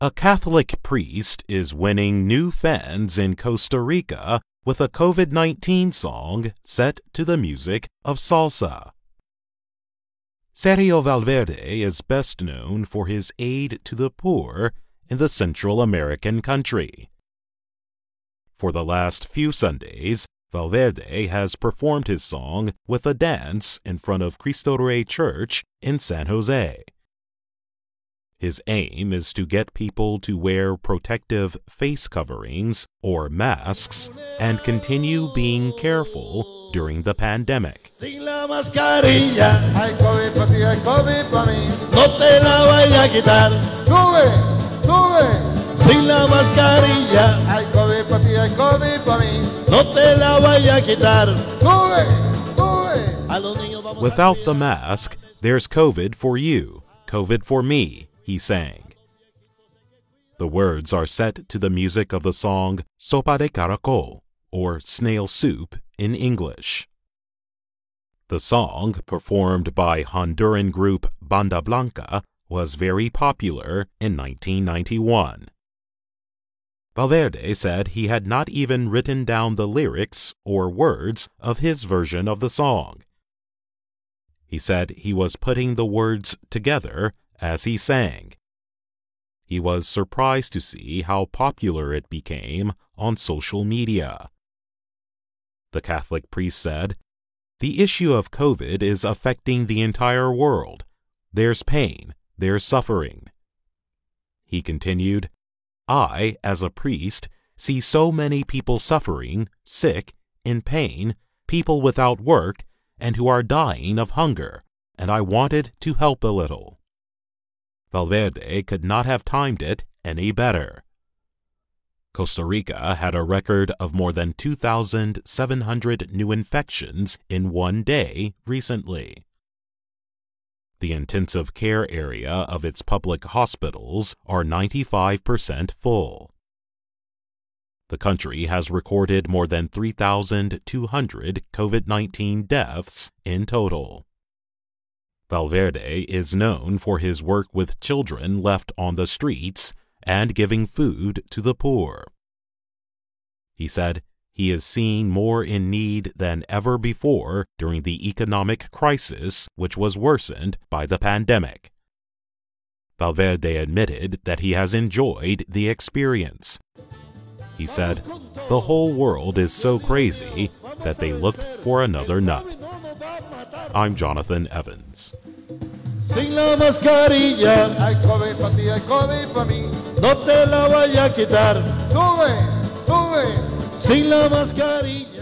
A Catholic priest is winning new fans in Costa Rica with a COVID-19 song set to the music of salsa. Sergio Valverde is best known for his aid to the poor in the Central American country. For the last few Sundays, Valverde has performed his song with a dance in front of Cristo Rey Church in San Jose. His aim is to get people to wear protective face coverings or masks and continue being careful during the pandemic. Sin la mascarilla, hay COVID para ti, hay COVID para mí. No te la vaya a quitar. Sube, sube. Sin la mascarilla, hay COVID para ti, hay COVID para mí. No te la vaya a quitar. Sube, sube. Without the mask, there's COVID for you, COVID for me, he sang. The words are set to the music of the song Sopa de Caracol, or Snail Soup in English. The song, performed by Honduran group Banda Blanca, was very popular in 1991. Valverde said he had not even written down the lyrics or words of his version of the song. He said he was putting the words together as he sang. He was surprised to see how popular it became on social media. The Catholic priest said, "The issue of COVID is affecting the entire world. There's pain, there's suffering." He continued, "I, as a priest, see so many people suffering, sick, in pain, people without work, and who are dying of hunger, and I wanted to help a little." Valverde could not have timed it any better. Costa Rica had a record of more than 2,700 new infections in one day recently. The intensive care area of its public hospitals are 95% full. The country has recorded more than 3,200 COVID-19 deaths in total. Valverde is known for his work with children left on the streets and giving food to the poor. He said he is seen more in need than ever before during the economic crisis, which was worsened by the pandemic. Valverde admitted that he has enjoyed the experience. He said, "The whole world is so crazy that they looked for another nut." I'm Jonathan Evans. Sin la mascarilla, hay COVID para ti, hay COVID para mí. No te la vaya a quitar. Sube, sube. Sin la mascarilla.